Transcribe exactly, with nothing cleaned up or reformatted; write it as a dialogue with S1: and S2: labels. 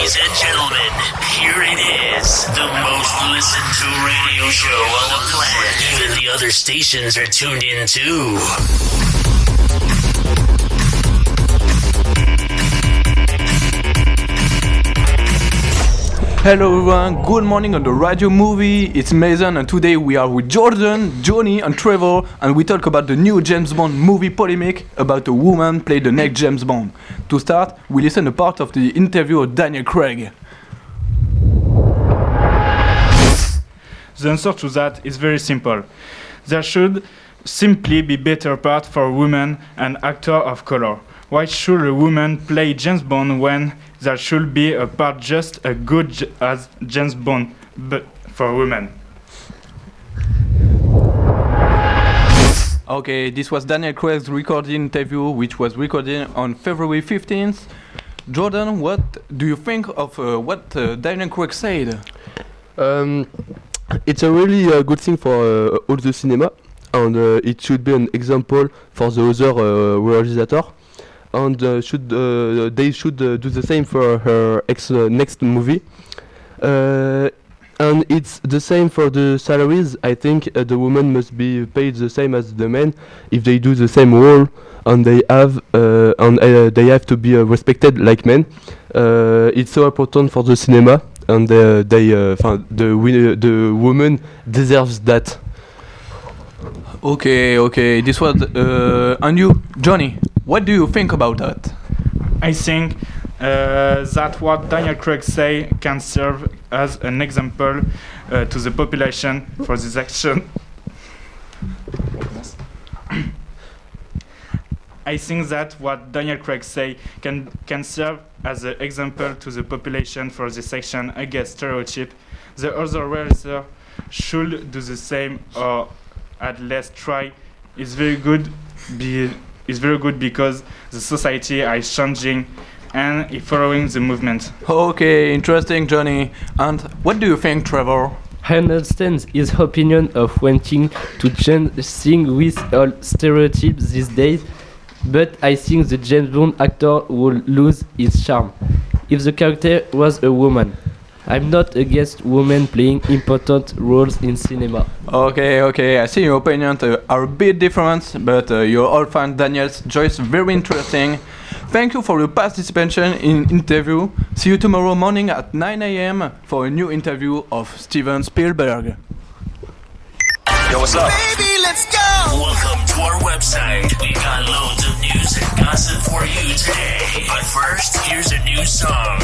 S1: Ladies and gentlemen, here it is. The most listened to radio show on the planet. Even the other stations are tuned in too.
S2: Hello everyone, good morning on the Radio Movie. It's Mason and today we are with Jordan, Johnny and Trevor and we talk about the new James Bond movie polemic about a woman playing the next James Bond. To start, we listen a part of the interview of Daniel Craig.
S3: The answer to that is very simple. There should simply be better part for women and actors of color. Why should a woman play James Bond when there should be a part just as good j- as James Bond, but for women?
S2: Okay, this was Daniel Craig's recorded interview, which was recorded on February fifteenth. Jordan, what do you think of uh, what uh, Daniel Craig said?
S4: Um, it's a really uh, good thing for uh, all the cinema, and uh, it should be an example for the other uh, realizator. And uh, should uh, they should uh, do the same for her ex uh, next movie. Uh, and it's the same for the salaries. I think uh, the women must be paid the same as the men if they do the same role, and they have uh, and uh, they have to be uh, respected like men. Uh, it's so important for the cinema, and uh, they uh, the wi- the woman deserves that.
S2: Okay, okay, this was uh, and you, Johnny. What do you think about that?
S3: I think uh, that what Daniel Craig say can serve as an example uh, to the population for this action. I think that what Daniel Craig say can can serve as an example to the population for this action against stereotype. The other realizer should do the same or at least try. It's very good. Be is very good because the society is changing and is following the movement.
S2: Okay, interesting, Johnny. And what do you think, Trevor?
S5: I understand his opinion of wanting to change things with all stereotypes these days, but I think the James Bond actor will lose its charm if the character was a woman. I'm not against women playing important roles in cinema.
S2: Okay, okay, I see your opinions uh, are a bit different, but uh, you all find Daniel's choice very interesting. Thank you for your participation in interview. See you tomorrow morning at nine a.m. for a new interview of Steven Spielberg.
S1: Yo, what's up? Baby, let's go! Welcome to our website. We got loads of news and gossip for you today. But first, here's a new song.